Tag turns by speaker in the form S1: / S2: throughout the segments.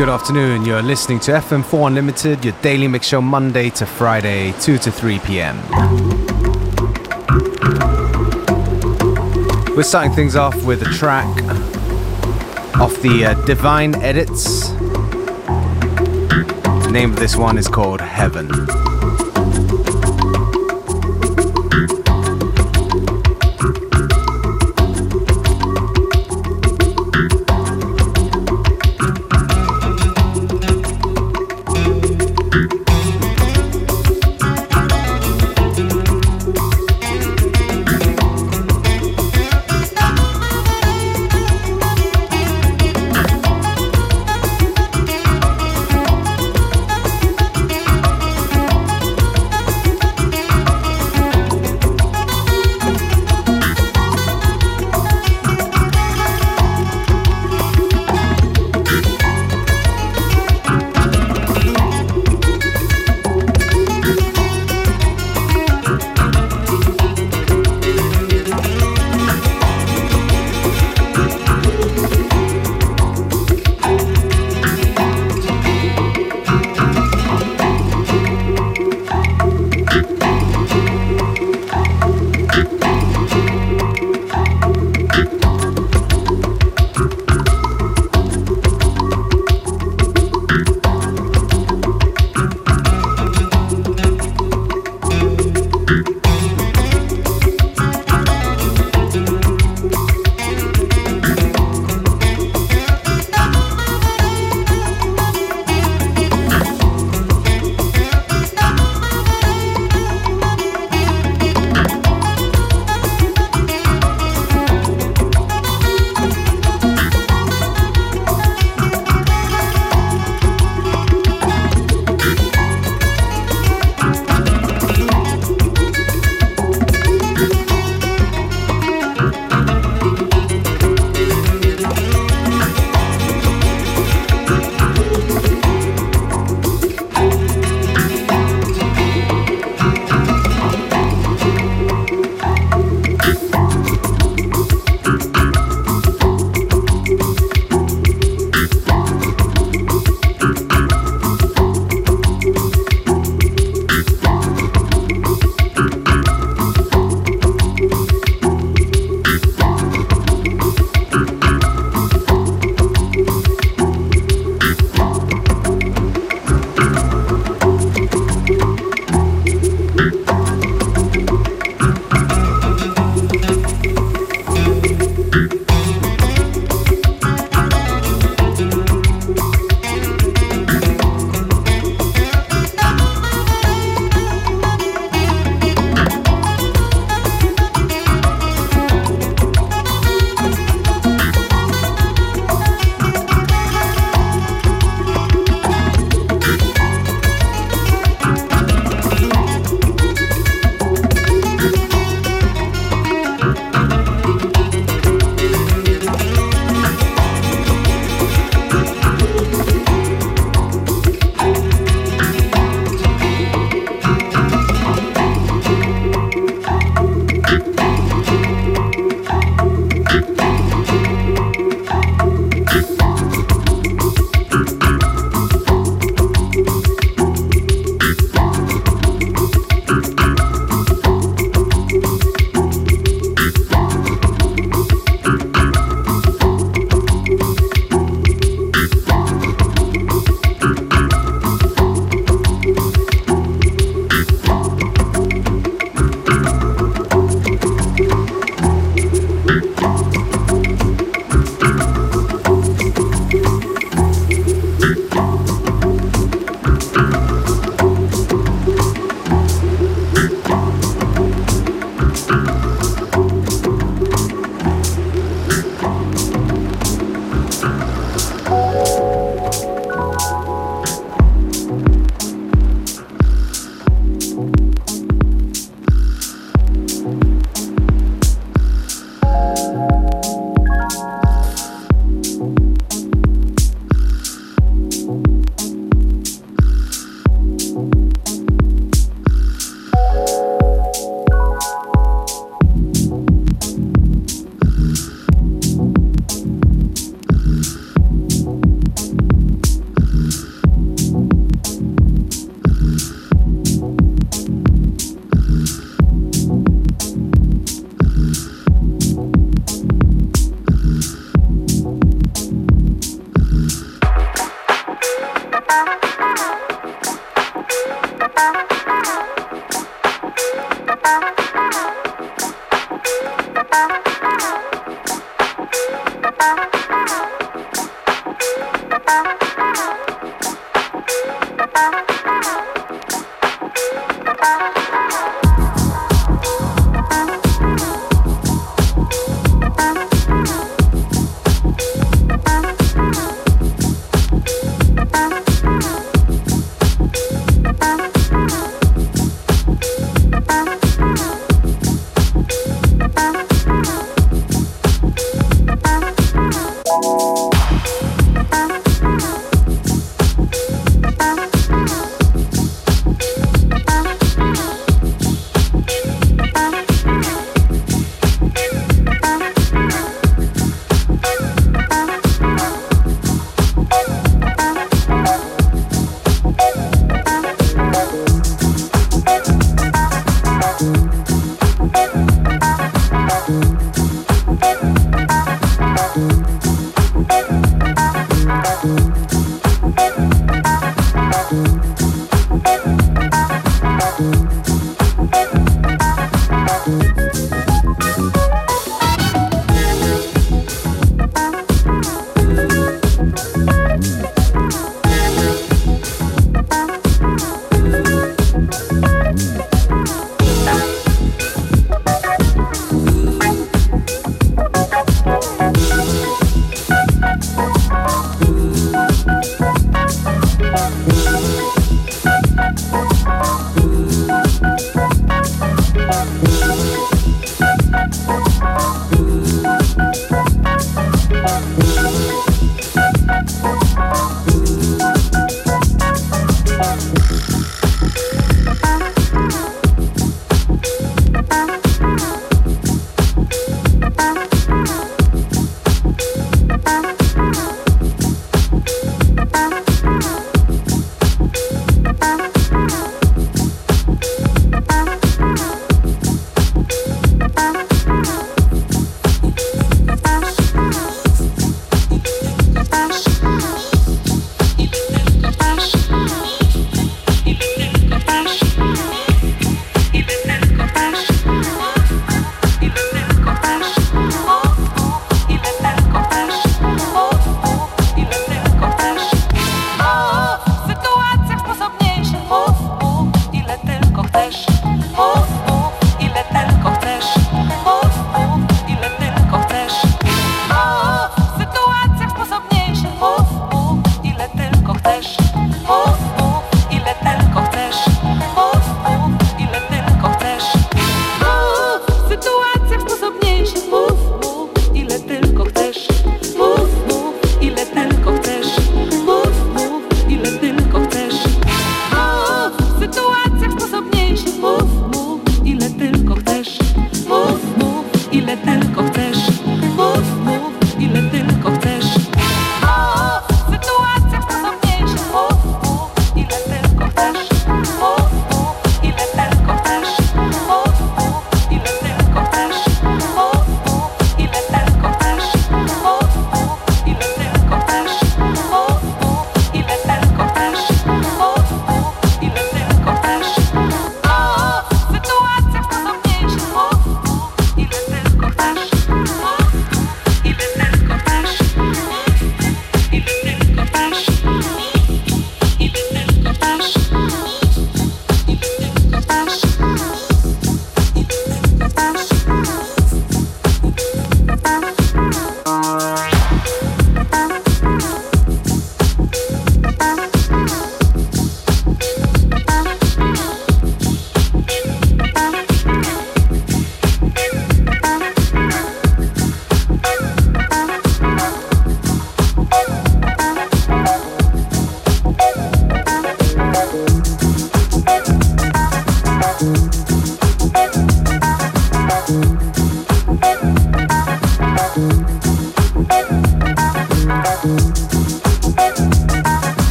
S1: Good afternoon, you're listening to FM4 Unlimited, your daily mix show Monday to Friday, 2 to 3 p.m. We're starting things off with a track off the Divine Edits. The name of this one is called Heaven.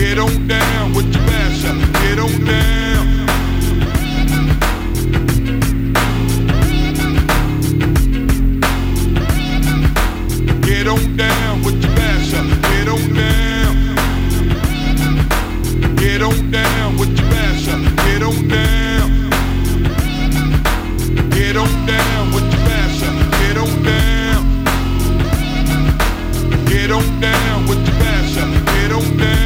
S2: Get on down with your mashup. Get on down. Get on down with your mashup. Get on down. Get on down with your mashup. Get on down. Get on down with your mashup. Get on down. Get on down with your mashup. Get on down.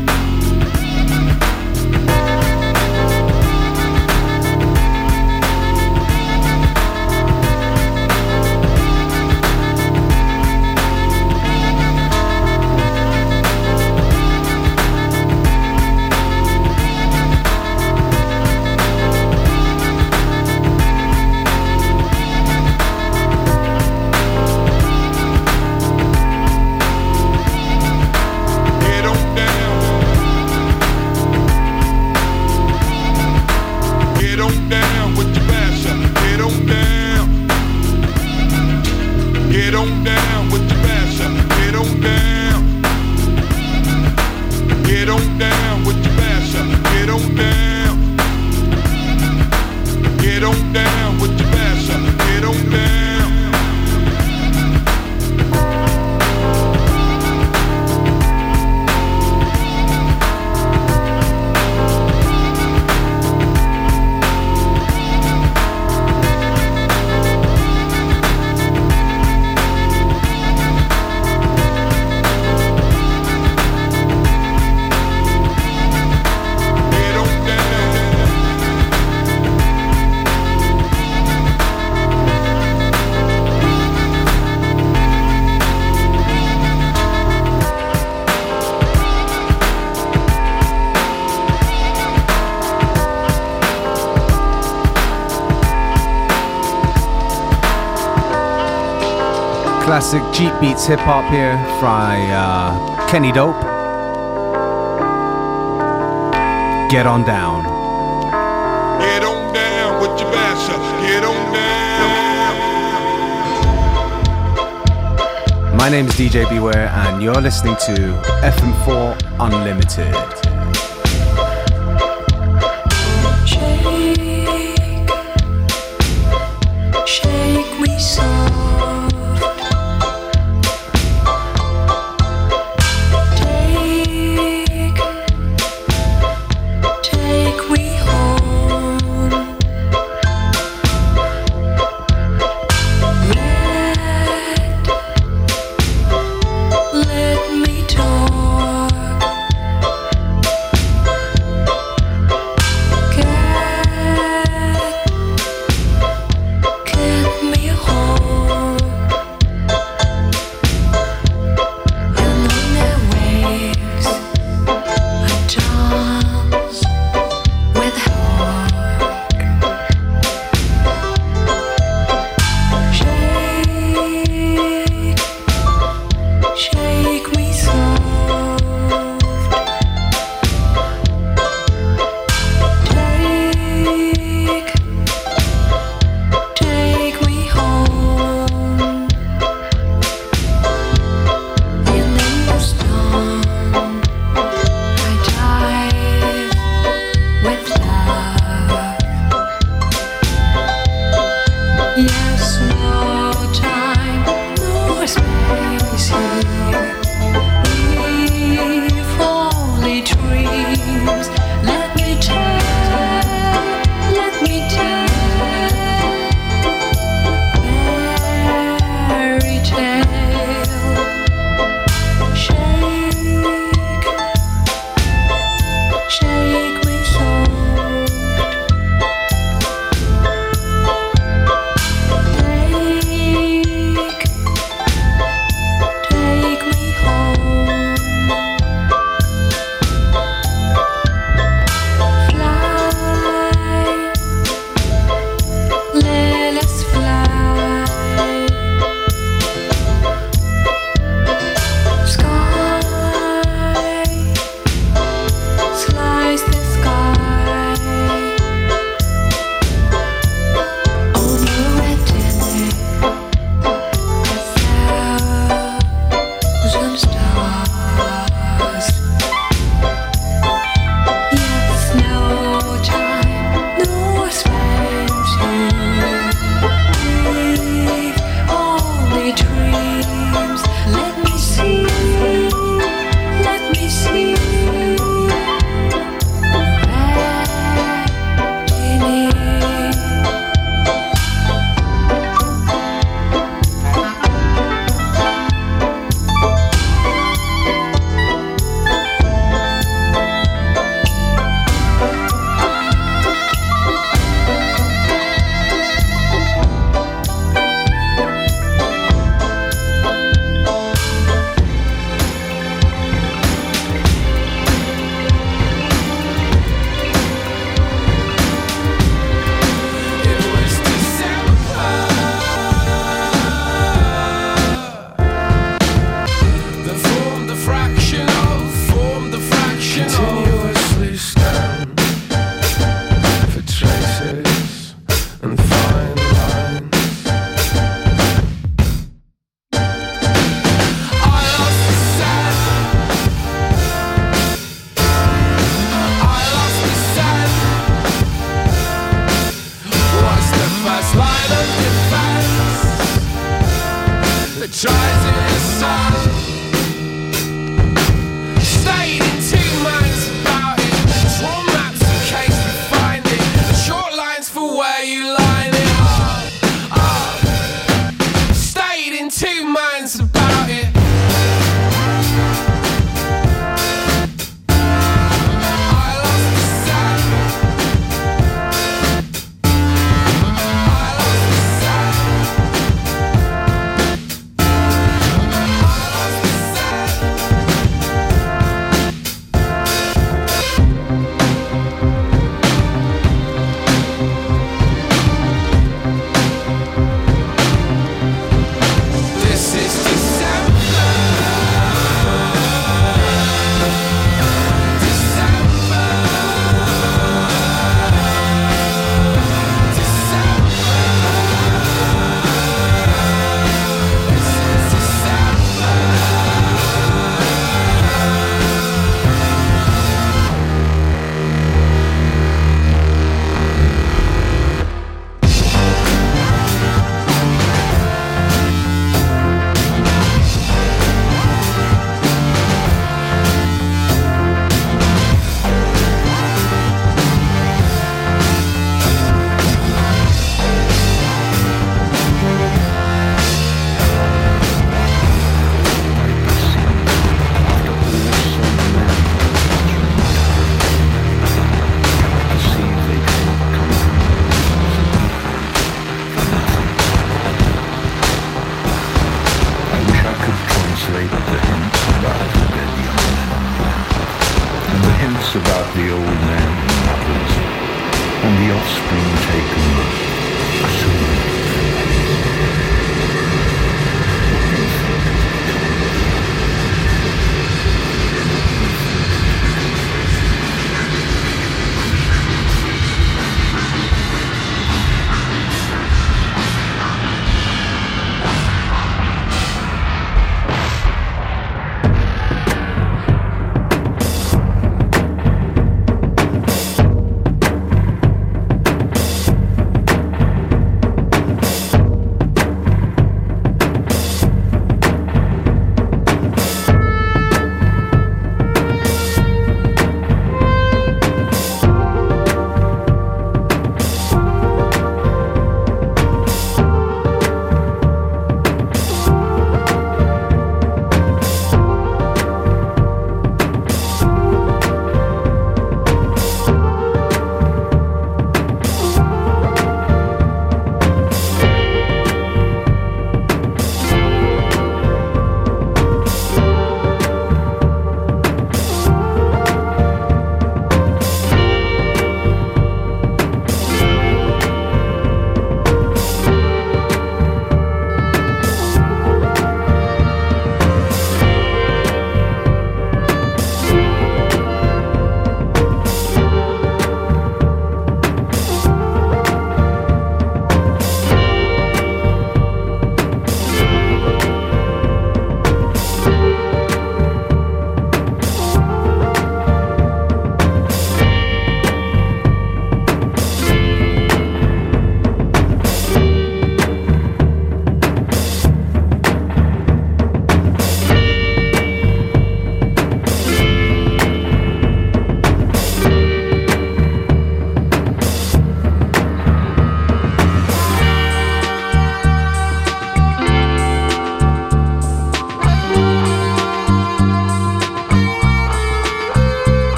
S1: Classic Jeep Beats hip hop here by Kenny Dope. Get on down.
S2: Get on down with your mashup. Get on down.
S1: My name is DJ Beware and you're listening to FM4 Unlimited.
S3: Shake me soft. Take me home. Let me talk.
S4: Hence about the old man mothers and the offspring taken soon.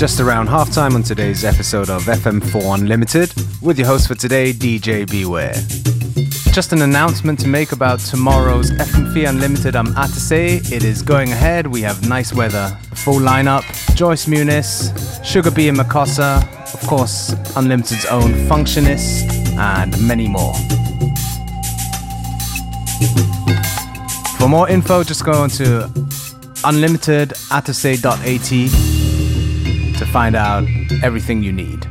S1: Just around halftime on today's episode of FM4 Unlimited with your host for today, DJ Beware. Just an announcement to make about tomorrow's FM4 Unlimited. I'm at to say it is going ahead. We have nice weather, full lineup, Joyce Muniz, Sugar B and Makossa, of course Unlimited's own Functionist, and many more. For more info, just go on to unlimitedatossay.at to find out everything you need.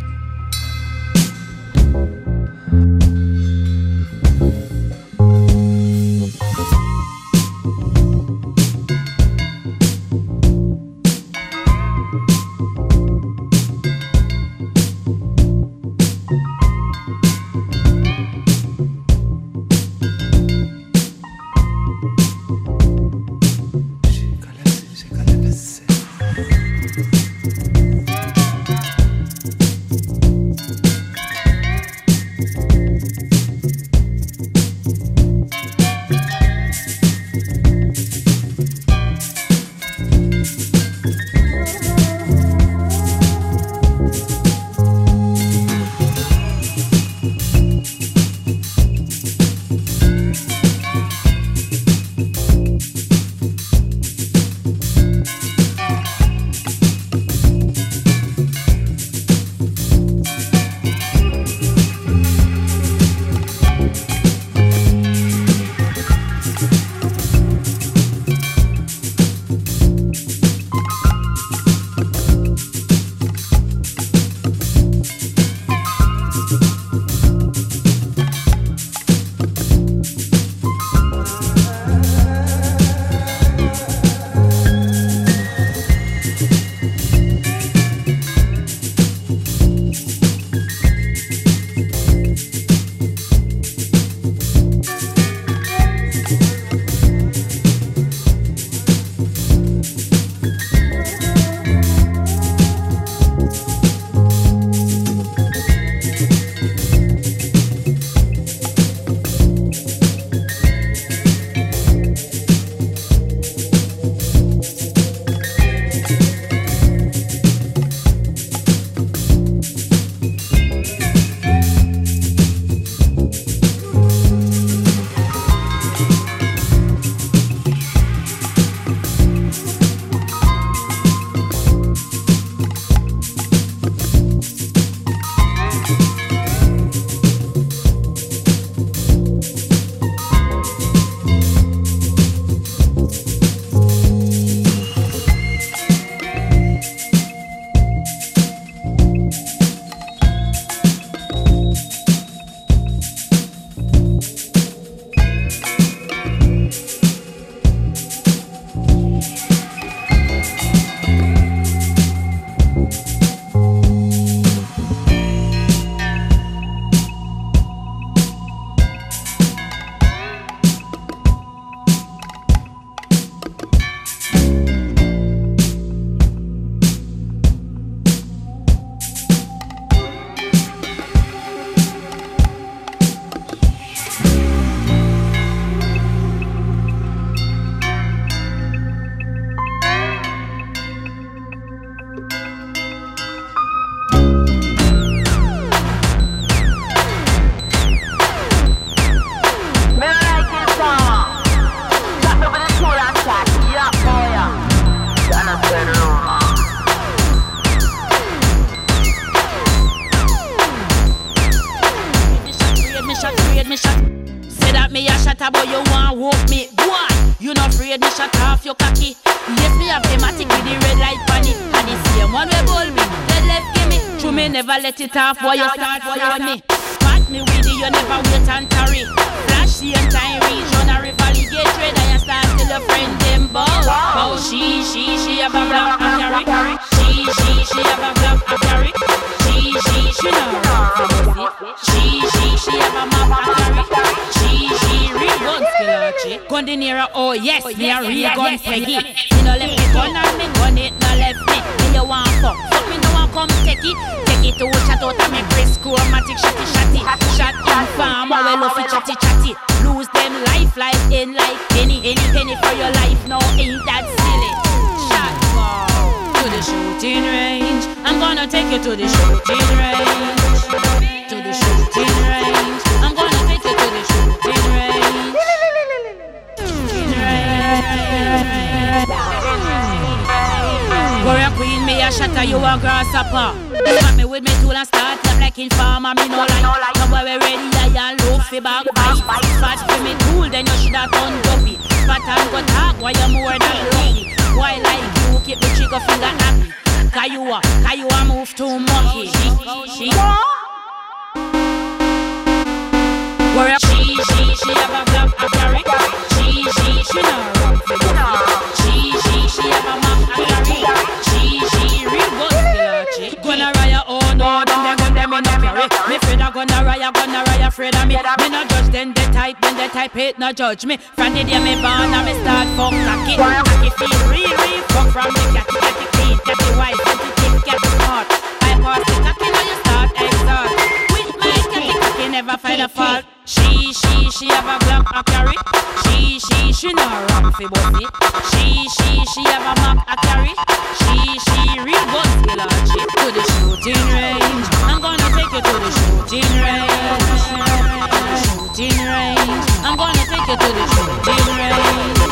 S5: Let it off while you start following me. Pat me with you, you never wait and tarry. Flash the entire region, a rivally get trade, and you start till your friend them bow. Oh, she have a black and carry. She have a black and carry. She know how. She have a map and carry. She real gun skill. Gun the nearer, oh yes, me a real gun peggy. Me no left me gun and me gun it no left me. Me you want fuck me no want come take it. To chat out and make Chris chromatic shotty. Shot in farm, well love it chatty. Lose them life in like any penny for your life. No, ain't that silly. Shot to the shooting range. take you to the shooting range. To the shooting range. I'm gonna take you to the shooting range. Shooting range. Warrior queen, me a shatter, you a grasshopper. Come me with me tool and start up like informer. Me no like. Come where we ready, I and low fi back fight. Spot for me tool, then you shoulda done dopey. Spot and go talk, why you more than lucky. Why like you keep the trigger finger happy? Cause you a move too mucky. She have a black a carry. She no run for you. She have a map a carry. She real good girl. Gonna raya, oh no, then them in a carry. Me afraid I gonna raya, afraid of me. Me no judge, then they type it, no judge me. From the day me born, I me start fuck cocky. Cocky feel real fuck from the catty clean, catty white, catty thick, catty smart. I pass the cocky, now you start exalt. With my catty never find a fault. She have a black a carry. She no run fi bossy. She have a map a carry. She real good skill and she to the shooting range. I'm gonna take you to the shooting range. Shooting range. I'm gonna take you to the shooting range.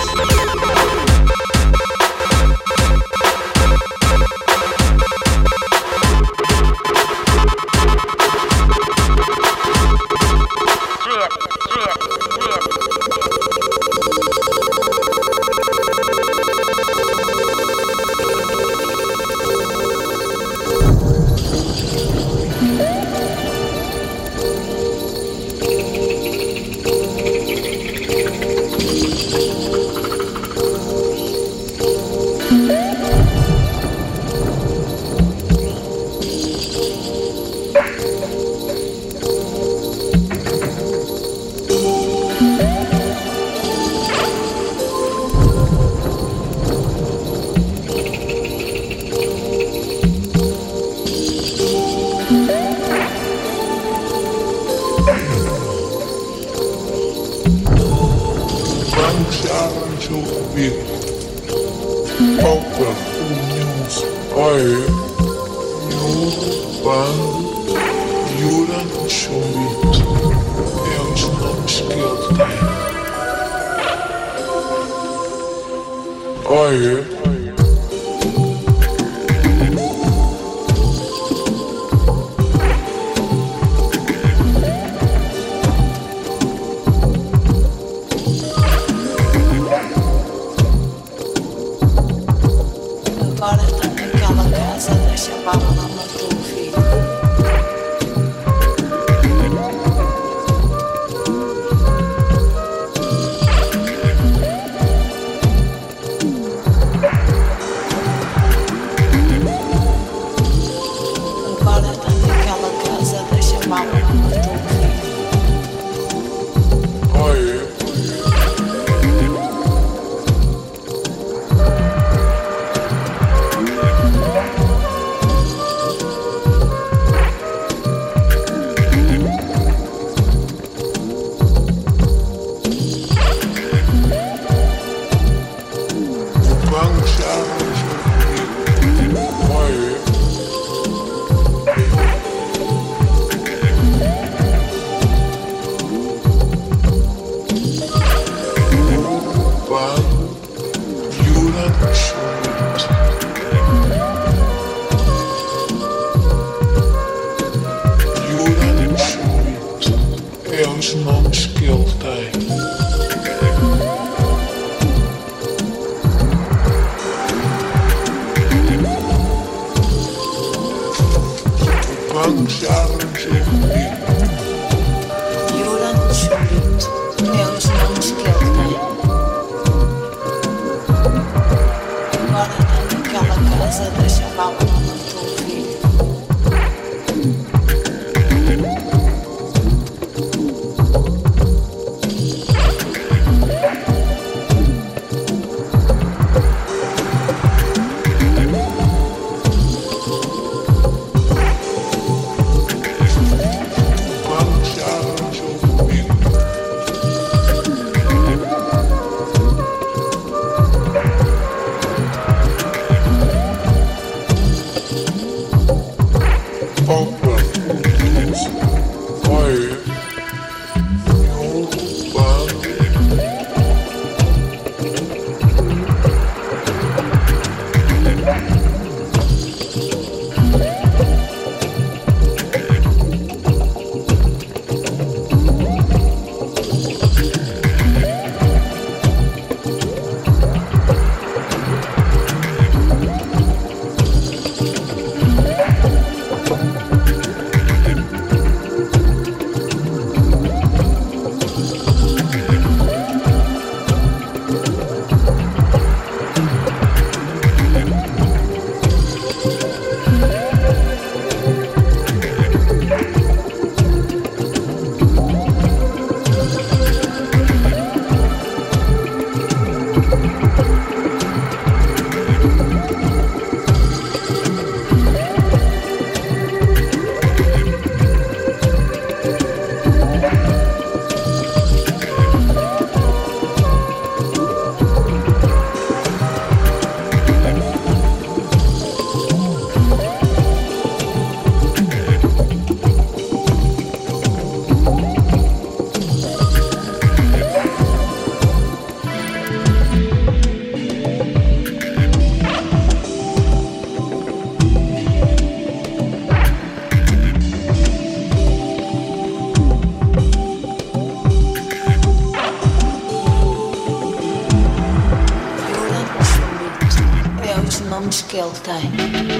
S6: Que ele tem.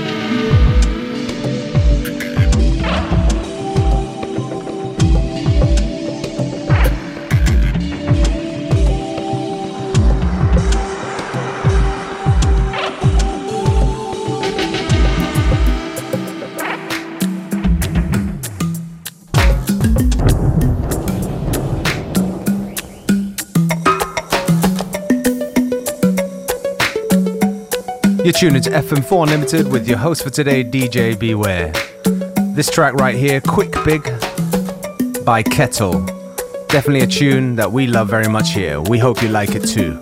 S1: You're tuned into FM4 Unlimited with your host for today, DJ Beware. This track right here, Quick Big by Kettle. Definitely a tune that we love very much here. We hope you like it too.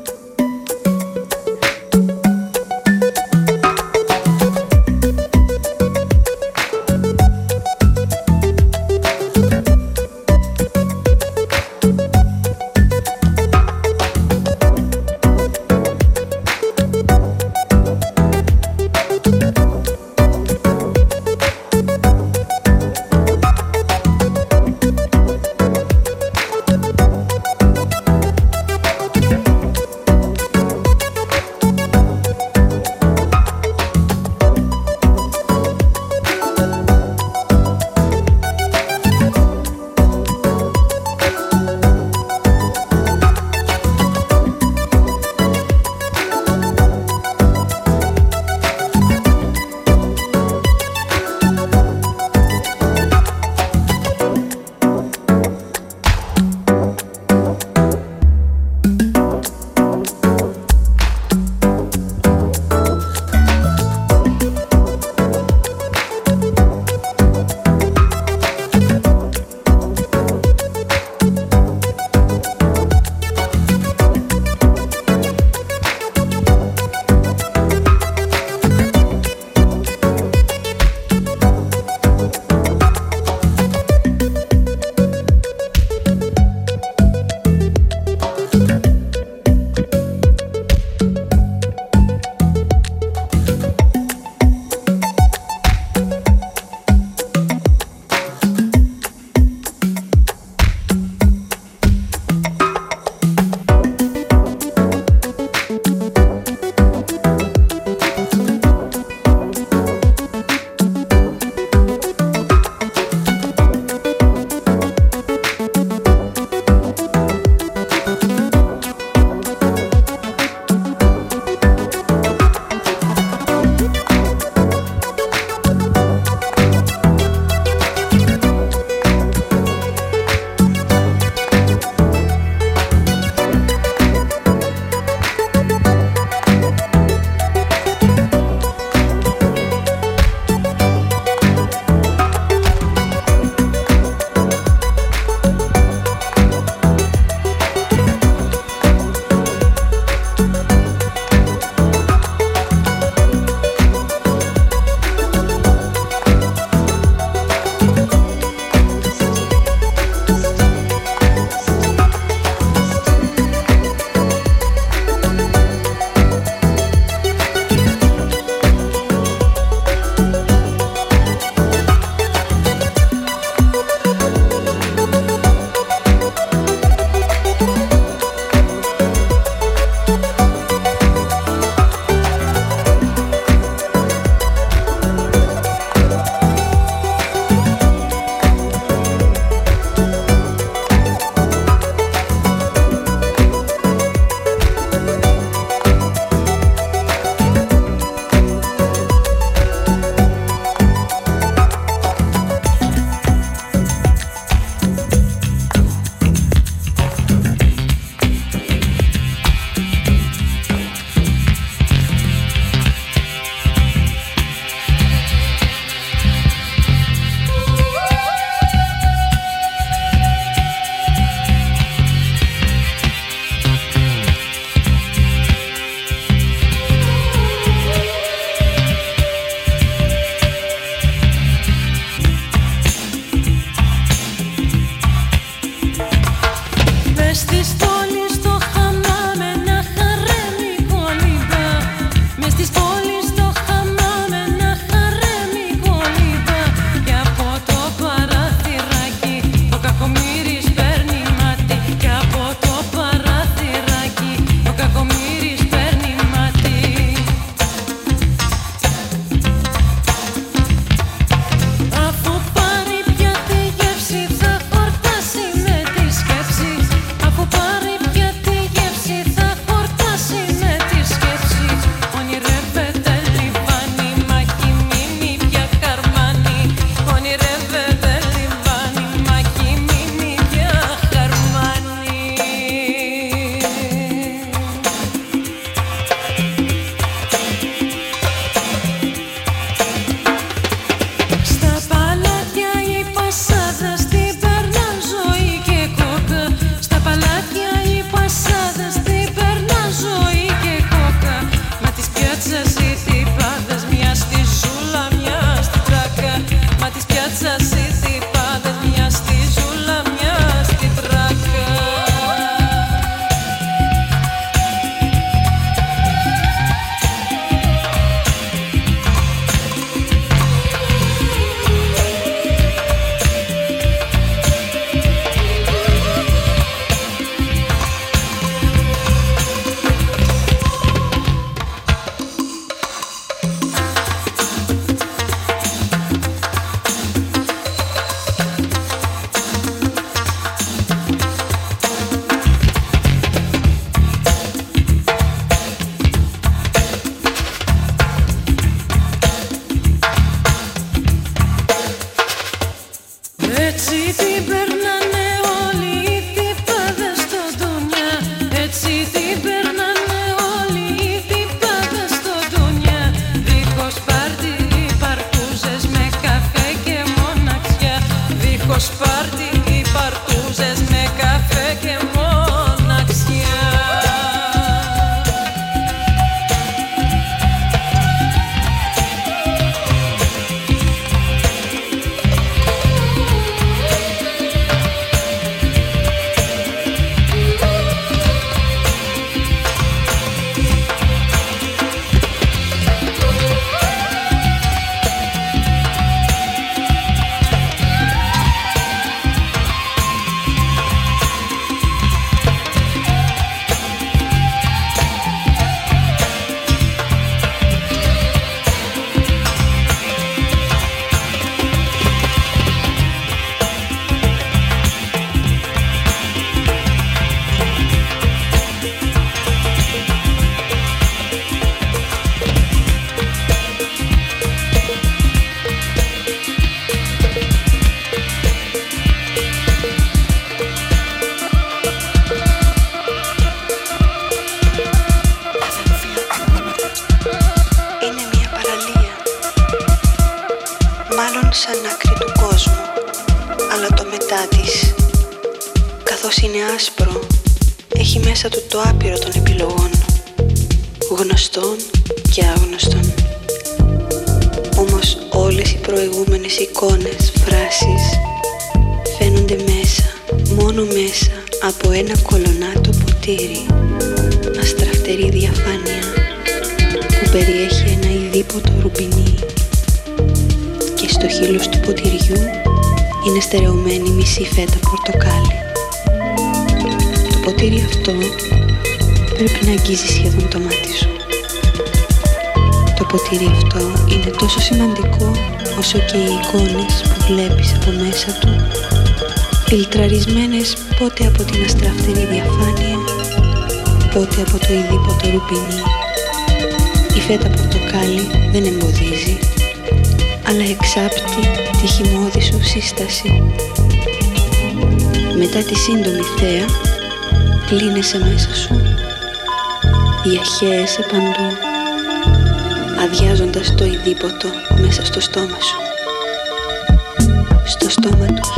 S7: σαν άκρη του κόσμου, αλλά το μετά της, καθώς είναι άσπρο, έχει μέσα του το άπειρο των επιλογών, γνωστών και άγνωστων. Όμως όλες οι προηγούμενες εικόνες, φράσεις, φαίνονται μέσα, μόνο μέσα από ένα κολονάτο ποτήρι, αστραφτερή διαφάνεια που περιέχει ένα ειδίποτο ρουμπινί, και στο χείλος του ποτηριού είναι στερεωμένη μισή φέτα πορτοκάλι. Το ποτήρι αυτό πρέπει να αγγίζει σχεδόν το μάτι σου. Το ποτήρι αυτό είναι τόσο σημαντικό όσο και οι εικόνες που βλέπεις από μέσα του, φιλτραρισμένες πότε από την αστραφτερή διαφάνεια, πότε από το ειδίποτο ρουπινί. Η φέτα πορτοκάλι δεν εμποδίζει, αλλά εξάπτει τη χυμώδη σου σύσταση. Μετά τη σύντομη θέα, κλείνεσαι μέσα σου, διαχέεσαι παντού, αδειάζοντας το ειδίποτο μέσα στο στόμα σου, στο στόμα τους.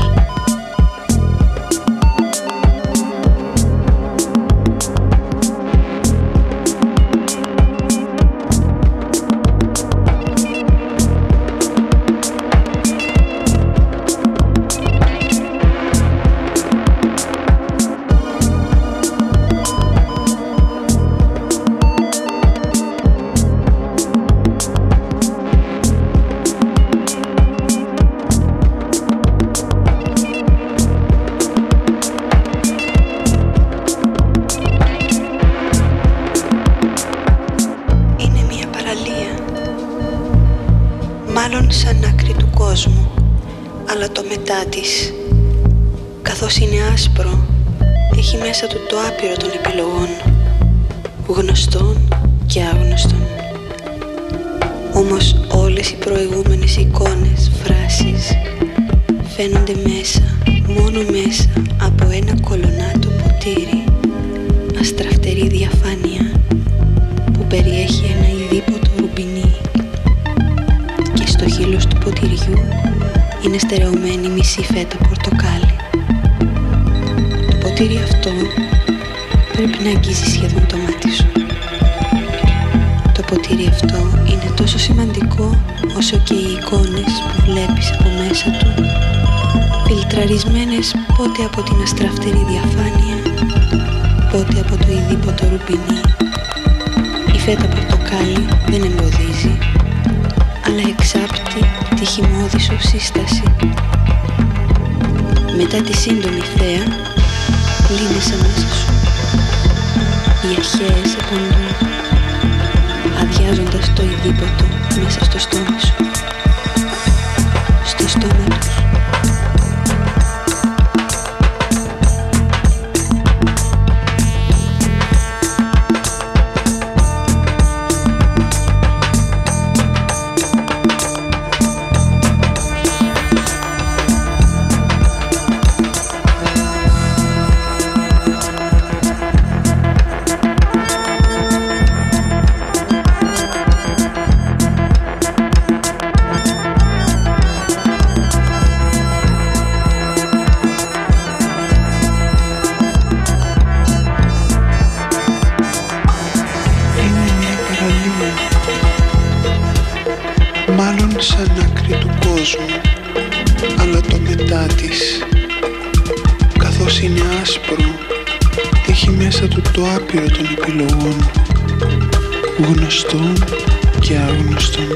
S7: Της, καθώς είναι άσπρο, έχει μέσα του το άπειρο των επιλογών, γνωστών και άγνωστων. Όμως όλες οι προηγούμενες εικόνες, φράσεις, φαίνονται μέσα, μόνο μέσα από ένα κολονάτο ποτήρι, αστραφτερή διαφάνεια που περιέχει ένα ειδίποτο ρουμπινί, και στο χείλος του ποτηριού είναι στερεωμένη μισή φέτα πορτοκάλι. Το ποτήρι αυτό πρέπει να αγγίζει σχεδόν το μάτι σου. Το ποτήρι αυτό είναι τόσο σημαντικό όσο και οι εικόνες που βλέπεις από μέσα του, φιλτραρισμένες πότε από την αστραφτερή διαφάνεια, πότε από το ειδίποτο ρουπινί. Η φέτα πορτοκάλι δεν εμποδίζει, αλλά εξάπτει τη χυμώδη σου σύσταση. Μετά τη σύντομη θέα, λύνεσαι μέσα σου. Οι αρχαίες επαντούν, αδειάζοντας το ειδίποτο μέσα στο στόμα σου, στο στόμα τους.
S8: Αλλά το μετά της, καθώς είναι άσπρο, έχει μέσα του το άπειρο των επιλογών, γνωστών και άγνωστων.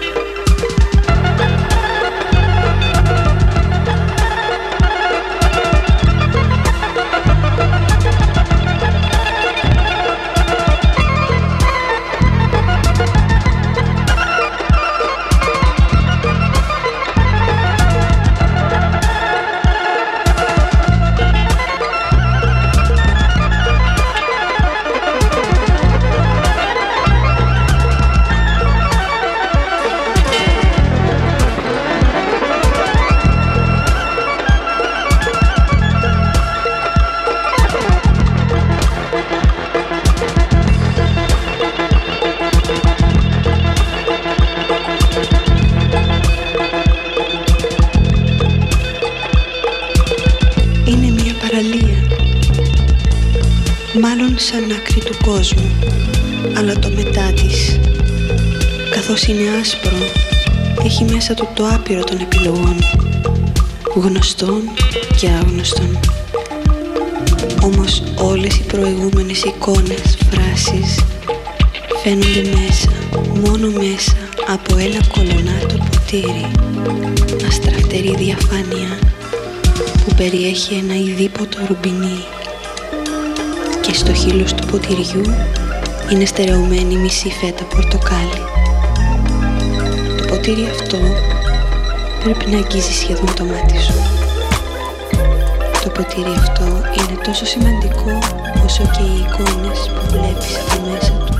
S7: Μάλλον σαν άκρη του κόσμου, αλλά το μετά της, καθώς είναι άσπρο, έχει μέσα του το άπειρο των επιλογών, γνωστών και άγνωστων. Όμως όλες οι προηγούμενες εικόνες, φράσεις, φαίνονται μέσα, μόνο μέσα από ένα κολονάτο ποτήρι, αστραφτερή διαφάνεια που περιέχει ένα ειδίποτο ρουμπινί. Και στο χείλος του ποτηριού είναι στερεωμένη μισή φέτα πορτοκάλι. Το ποτήρι αυτό πρέπει να αγγίζει σχεδόν το μάτι σου. Το ποτήρι αυτό είναι τόσο σημαντικό όσο και οι εικόνες που βλέπεις από μέσα του.